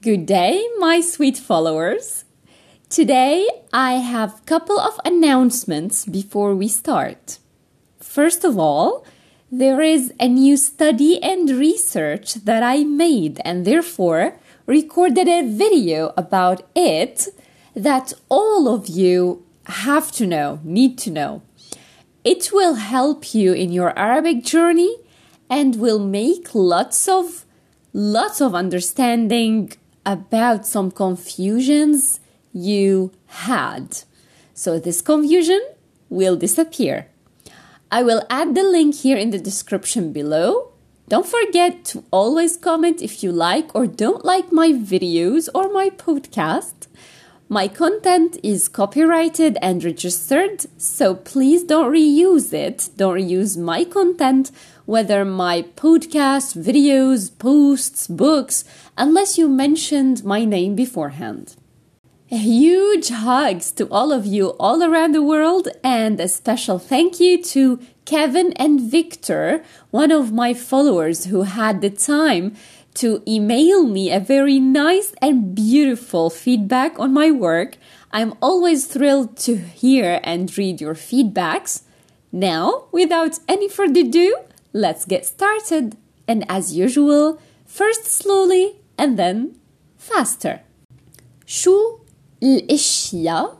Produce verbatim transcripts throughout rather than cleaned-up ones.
Good day, my sweet followers. Today I have a couple of announcements before we start. First of all, there is a new study and research that I made and therefore recorded a video about it that all of you have to know, need to know. It will help you in your Arabic journey and will make lots of lots of understanding about some confusions you had. So this confusion will disappear. I will add the link here in the description below. Don't forget to always comment if you like or don't like my videos or my podcast. My content is copyrighted and registered, so please don't reuse it. Don't reuse my content, whether my podcast, videos, posts, books, unless you mentioned my name beforehand. A huge hugs to all of you all around the world, and a special thank you to Kevin and Victor, one of my followers who had the time to email me a very nice and beautiful feedback on my work. I'm always thrilled to hear and read your feedbacks. Now, without any further ado, let's get started. And as usual, first slowly and then faster. شو الاشياء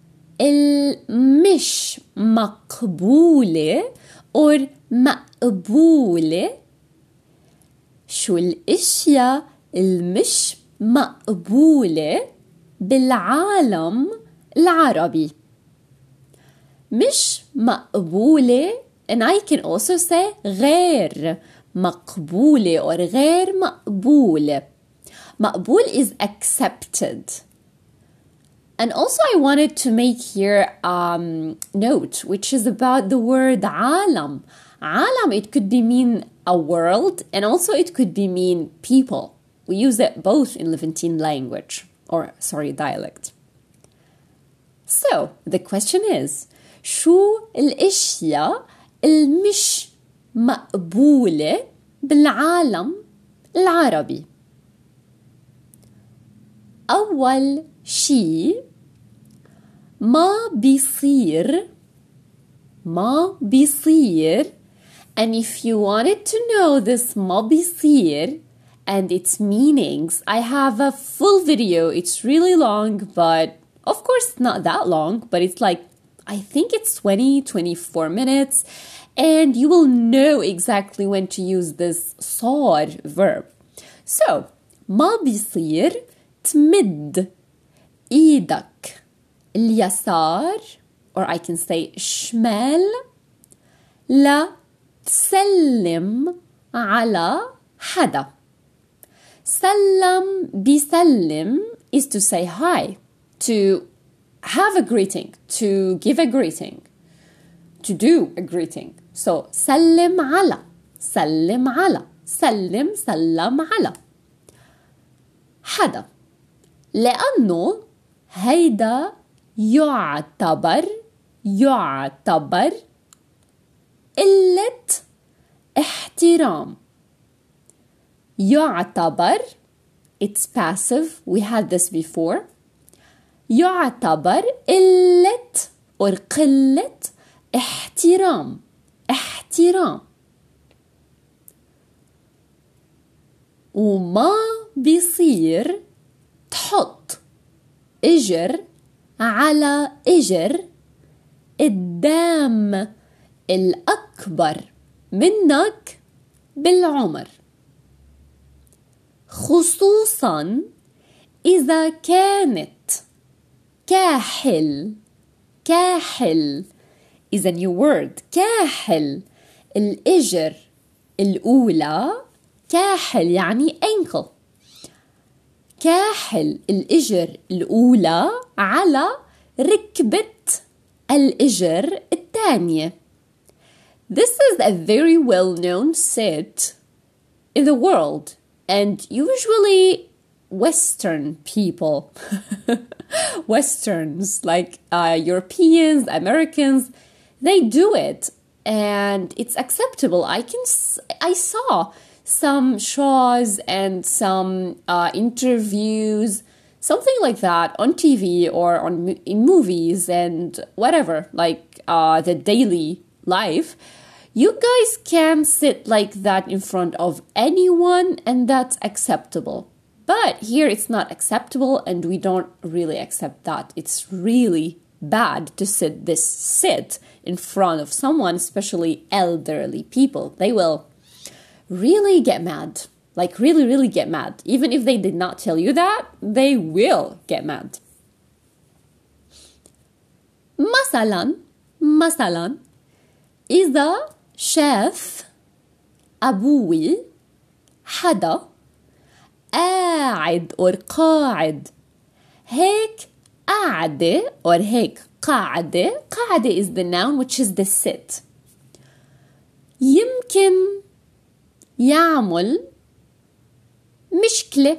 المش مقبولة or مقبولة؟ شو الاشياء المش مقبولة بالعالم العربي؟ مش مقبولة, and I can also say غير مقبولة or غير مقبولة. مقبول is accepted. And also I wanted to make here a um, note, which is about the word عالم. عالم, it could be mean a world, and also it could be mean people. We use it both in Levantine language, or sorry, dialect. So, the question is, شو الاشياء المش مقبولة بالعالم العربي؟ أول شي ما بيصير ما بيصير. And if you wanted to know this ما بيصير and its meanings, I have a full video. It's really long, but of course not that long, but it's like, I think it's twenty, twenty-four minutes, and you will know exactly when to use this صار verb. So, ما بيصير تمد إيدك اليسار, or I can say شمال, لا تسلم على حدا. سلم بيسلم is to say hi, to have a greeting, to give a greeting, to do a greeting. So سلم على, سلم على, سلم سلم على حدا, لأنه هيدا يعتبر يعتبر قلة احترام. يعتبر, it's passive, we had this before. يعتبر قلة or قلة احترام. احترام. وما بيصير تحط اجر على اجر قدام الأكبر منك بالعمر, خصوصا إذا كانت كاحل. كاحل is a new word. كاحل الإجر الأولى, كاحل يعني ankle. كاحل الإجر الأولى على ركبة الإجر الثانية. This is a very well-known sit in the world, and usually Western people, Westerns like uh, Europeans, Americans, they do it, and it's acceptable. I can, I saw some shows and some uh, interviews, something like that on T V or on in movies and whatever, like uh, the daily life, you guys can sit like that in front of anyone and that's acceptable. But here it's not acceptable and we don't really accept that. It's really bad to sit this sit in front of someone, especially elderly people. They will really get mad. Like really, really get mad. Even if they did not tell you that, they will get mad. مثلا مثلا إذا شاف أبوي حدا قاعد or قاعد هيك قاعدة or هيك قاعدة قاعدة is the noun which is the sit. يمكن يعمل مشكلة.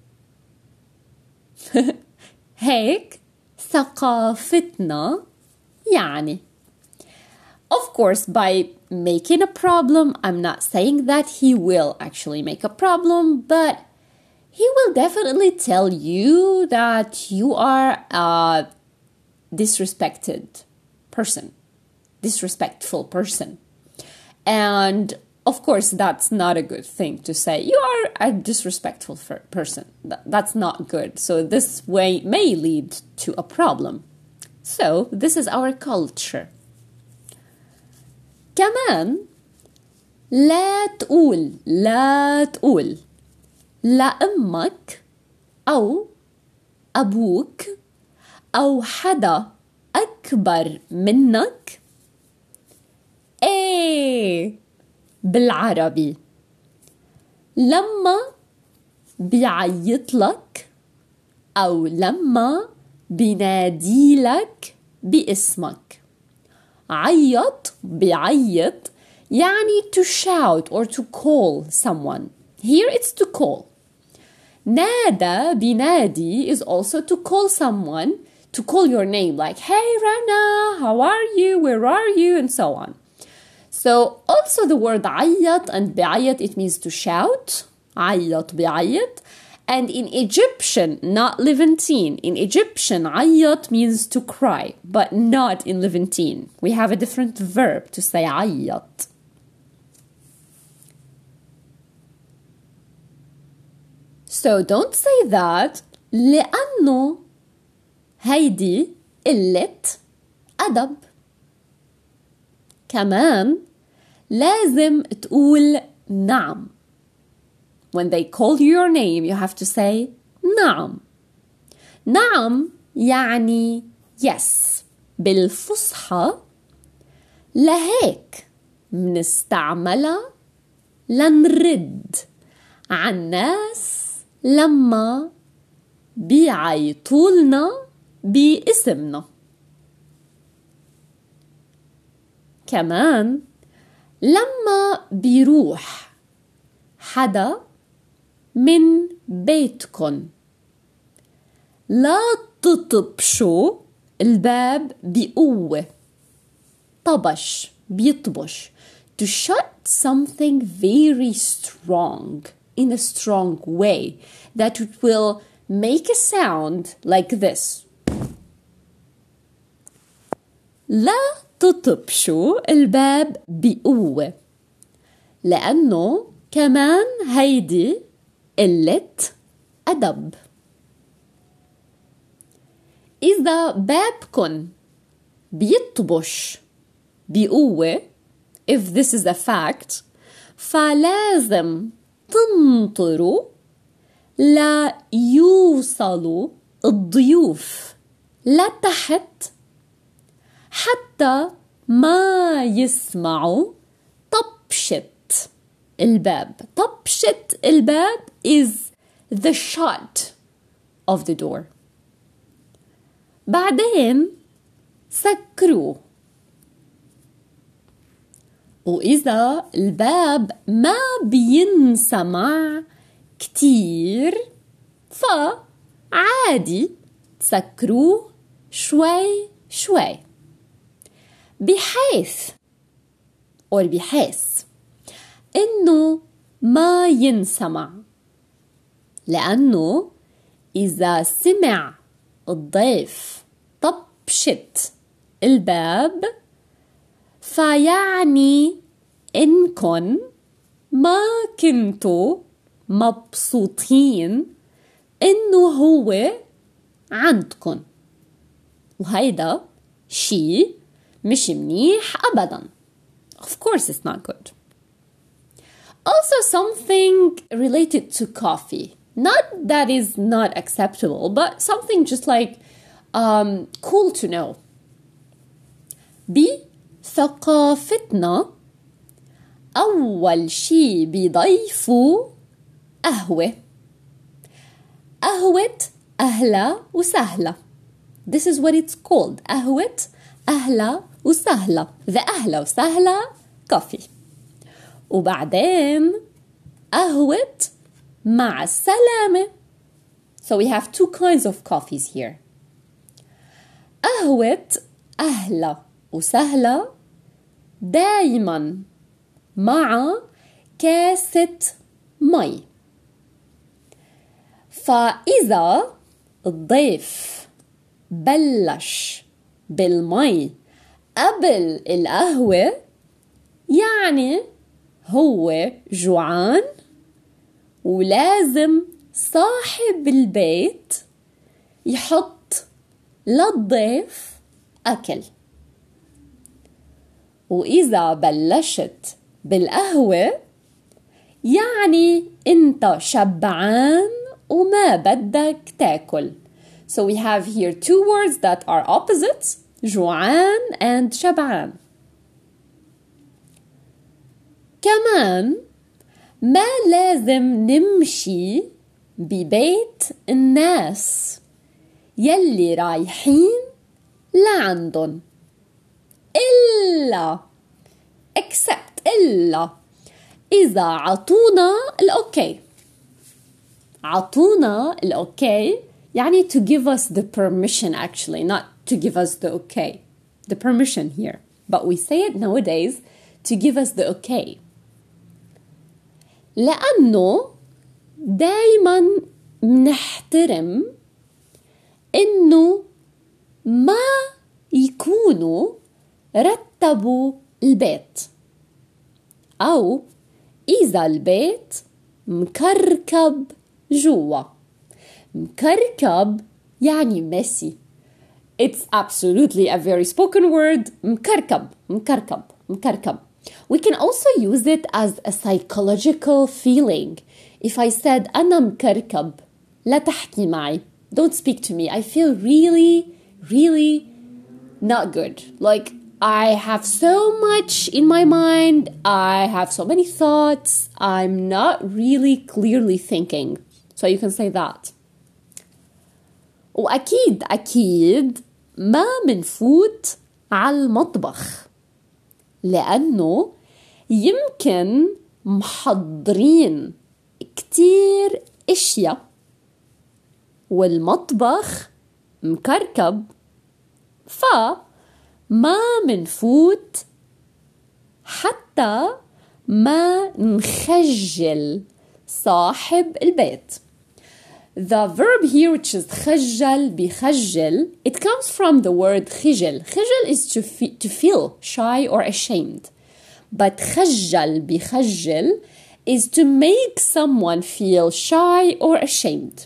هيك ثقافتنا يعني. Of course, by making a problem, I'm not saying that he will actually make a problem, but he will definitely tell you that you are a disrespected person, disrespectful person. And of course, that's not a good thing to say. You are a disrespectful person. That's not good. So this way may lead to a problem. So this is our culture. كمان لا تقول لا تقول لأمك أو أبوك أو حدا أكبر منك إيه بالعربي لما بيعيط لك أو لما بينادي لك باسمك. عيط بيعيط يعني to shout or to call someone. Here it's to call. نادى بينادي is also to call someone, to call your name like hey Rana, how are you, where are you, and so on. So also the word عيط and بيعيط, it means to shout. عيط بيعيط. And in Egyptian, not Levantine, in Egyptian, عيط means to cry, but not in Levantine. We have a different verb to say عيط. So don't say that لأنه هيدي قلة أدب. كمان لازم تقول نعم. When they call you your name, you have to say نعم. نعم يعني yes. بالفصحى لهيك منستعملها لنرد عن ناس لما بيعيطولنا باسمنا. كمان لما بيروح حدا من بيتكن لا تطبشوا الباب بقوة. طبش بيطبش. To shut something very strong in a strong way that it will make a sound like this. لا تطبشوا الباب بقوة لأنه كمان هيدي قلة أدب. إذا بابكن بيطبش بقوة, if this is a fact, فلازم تنطروا لا يوصلوا الضيوف لتحت حتى ما يسمعوا طبشة الباب. طبشة الباب is the shut of the door. بعدين سكروه. وإذا الباب ما بينسمع كتير فعادي تسكروه شوي شوي بحيث or بحيث إنه ما ينسمع، لأنه إذا سمع الضيف طبشة الباب فيعني إنكن ما كنتوا مبسوطين إنه هو عندكن، وهيدا شي مش منيح أبداً. Of course it's not good. Also something related to coffee. Not that is not acceptable, but something just like um, cool to know. بثقافتنا أول شي بيضيفوا قهوة. قهوة أهلا وسهلا. This is what it's called. قهوة أهلا وسهلا. The أهلا وسهلا coffee. وبعدين قهوة مع السلامة. So we have two kinds of coffees here. قهوة أهلا وسهلا دايما مع كاسة مي. فإذا الضيف بلش بالمي قبل القهوة يعني هو جوعان ولازم صاحب البيت يحط للضيف أكل. وإذا بلشت بالقهوة يعني أنت شبعان وما بدك تاكل. So we have here two words that are opposites, جوعان and شبعان. كمان ما لازم نمشي ببيت الناس يلي رايحين لعندن إلا except إلا إذا عطونا الأوكي. عطونا الأوكي يعني to give us the permission, actually not to give us the okay, the permission here, but we say it nowadays to give us the okay. لأنه دايما منحترم إنه ما يكونوا رتبوا البيت، أو إذا البيت مكركب جوا. مكركب يعني messy. It's absolutely a very spoken word. مكركب مكركب مكركب. We can also use it as a psychological feeling. If I said أنا مكركب لا تحكي معي, don't speak to me, I feel really really not good. Like I have so much in my mind, I have so many thoughts, I'm not really clearly thinking. So you can say that. وأكيد أكيد ما منفوت على المطبخ لأنه يمكن محضرين كتير اشياء والمطبخ مكركب، فما منفوت حتى ما نخجل صاحب البيت. The verb here, which is خجل بخجل, it comes from the word خجل. خجل is to, fe- to feel shy or ashamed. But خجل بخجل is to make someone feel shy or ashamed.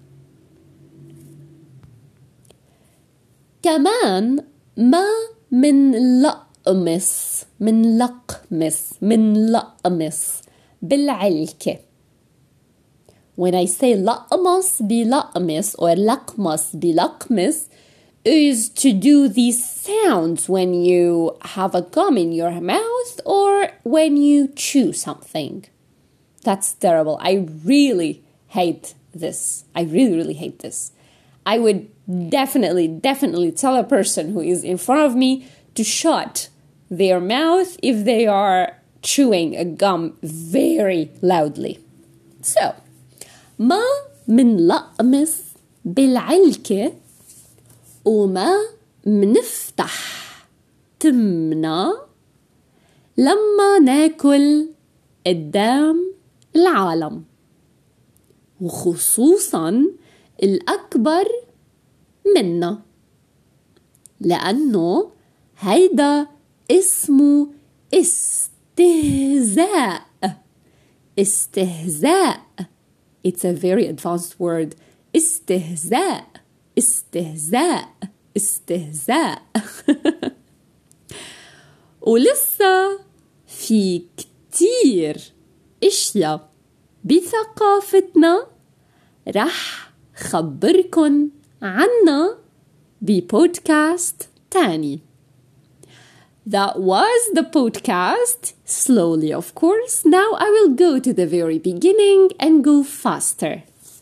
كمان ما من لقمس من لقمس من لقمس بالعلكة. When I say لقمس بلقمس or لقمس بلقمس is to do these sounds when you have a gum in your mouth or when you chew something. That's terrible. I really hate this. I really, really hate this. I would definitely, definitely tell a person who is in front of me to shut their mouth if they are chewing a gum very loudly. So, ما من لقمس بالعلكة وما منفتح تمنا لما ناكل قدام العالم، وخصوصاً الأكبر منا، لأنه هيدا اسمه استهزاء. استهزاء. It's a very advanced word. استهزاء. استهزاء. استهزاء. ولسه في كتير اشياء بثقافتنا رح خبركن عنها ببودكاست تاني. That was the podcast, slowly of course. Now I will go to the very beginning and go faster.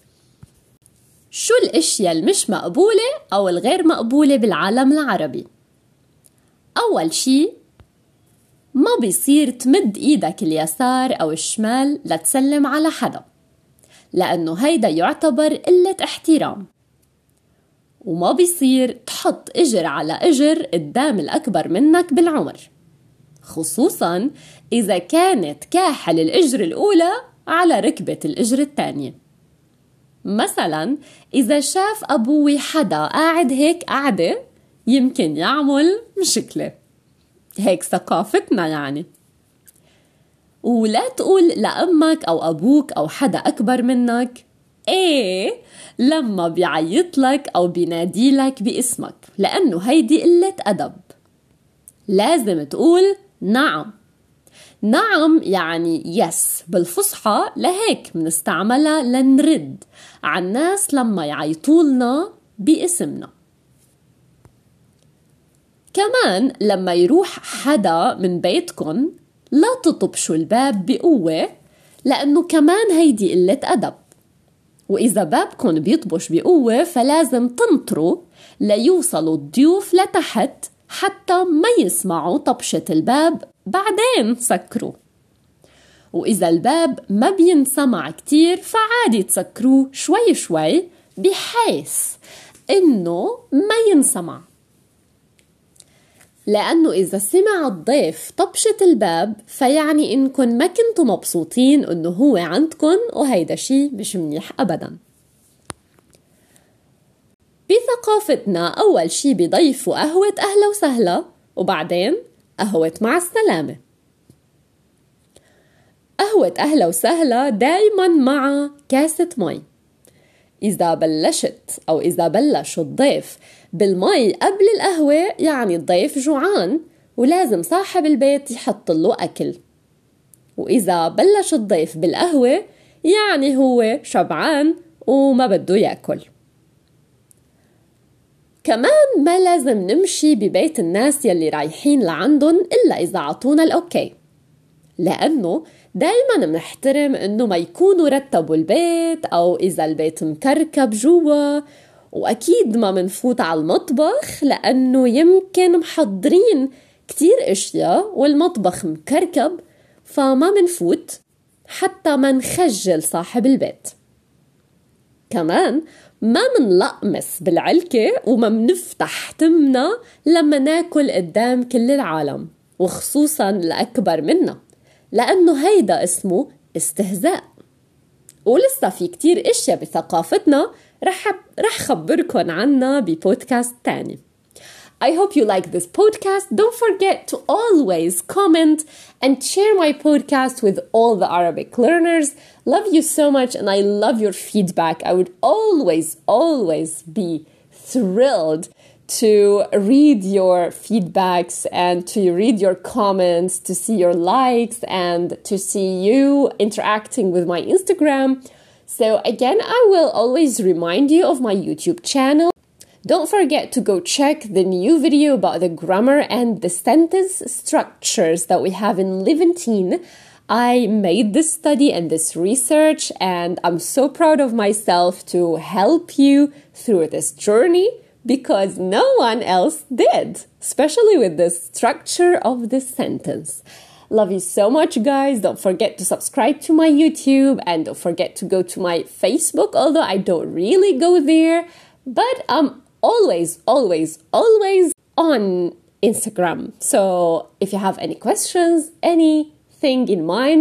شو الاشياء المش مقبولة أو الغير مقبولة بالعالم العربي؟ أول شي، ما بيصير تمد إيدك اليسار أو الشمال لتسلم على حدا، لأنه هيدا يعتبر قلة احترام. وما بيصير تحط إجر على إجر قدام الأكبر منك بالعمر، خصوصاً إذا كانت كاحل الإجر الأولى على ركبة الإجر الثانية. مثلاً إذا شاف أبوي حدا قاعد هيك قاعدة يمكن يعمل مشكلة. هيك ثقافتنا يعني. ولا تقول لأمك أو أبوك أو حدا أكبر منك إيه لما بيعيطلك أو بيناديلك باسمك، لأنه هيدي قلة أدب. لازم تقول نعم. نعم يعني يس بالفصحى، لهيك منستعملها لنرد على الناس لما يعيطولنا باسمنا. كمان لما يروح حدا من بيتكن لا تطبشوا الباب بقوة، لأنه كمان هيدي قلة أدب. وإذا بابكن بيطبش بقوة فلازم تنطروا ليوصلوا الضيوف لتحت حتى ما يسمعوا طبشة الباب، بعدين سكروا. وإذا الباب ما بينسمع كتير فعادي تسكروه شوي شوي بحيث إنه ما ينسمع، لأنه إذا سمع الضيف طبشة الباب فيعني إنكن ما كنتوا مبسوطين إنه هو عندكن، وهيدا شي مش منيح أبداً. بثقافتنا أول شي بيضيفوا قهوة أهلا وسهلا، وبعدين قهوة مع السلامة. قهوة أهلا وسهلا دايماً مع كاسة مي. إذا بلشت أو إذا بلش الضيف بالمي قبل القهوة يعني الضيف جوعان ولازم صاحب البيت يحط له أكل، وإذا بلش الضيف بالقهوة يعني هو شبعان وما بده يأكل. كمان ما لازم نمشي ببيت الناس يلي رايحين لعندن إلا إذا عطونا الأوكي، لأنه دايما منحترم إنه ما يكونوا رتبوا البيت أو إذا البيت مكركب جوا. وأكيد ما منفوت على المطبخ لأنه يمكن محضرين كتير أشياء والمطبخ مكركب، فما منفوت حتى ما نخجل صاحب البيت. كمان ما منلقمس بالعلكة وما منفتح تمنا لما ناكل قدام كل العالم، وخصوصا الأكبر منا، لأنه هيدا اسمه استهزاء. ولسه في كتير اشياء بثقافتنا رح رح خبركن عنها ببودكاست تاني. I hope you like this podcast. Don't forget to always comment and share my podcast with all the Arabic learners. Love you so much and I love your feedback. I would always, always be thrilled to read your feedbacks and to read your comments, to see your likes and to see you interacting with my Instagram. So again, I will always remind you of my YouTube channel. Don't forget to go check the new video about the grammar and the sentence structures that we have in Levantine. I made this study and this research and I'm so proud of myself to help you through this journey because no one else did, especially with the structure of this sentence. Love you so much, guys. Don't forget to subscribe to my YouTube and don't forget to go to my Facebook, although I don't really go there, but I'm always, always, always on Instagram. So if you have any questions, anything in mind,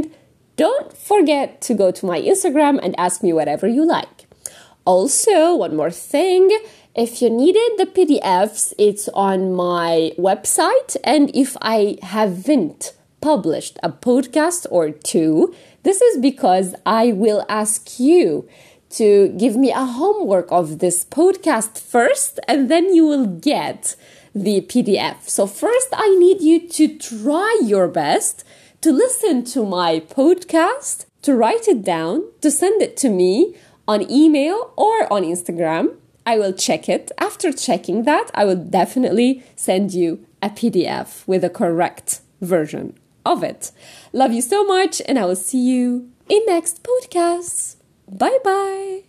don't forget to go to my Instagram and ask me whatever you like. Also, one more thing, if you needed the P D Fs, it's on my website, and if I haven't published a podcast or two, this is because I will ask you to give me a homework of this podcast first, and then you will get the P D F. So first I need you to try your best to listen to my podcast, to write it down, to send it to me on email or on Instagram. I will check it. After checking that, I will definitely send you a P D F with a correct version of it. Love you so much, and I will see you in next podcast. Bye bye.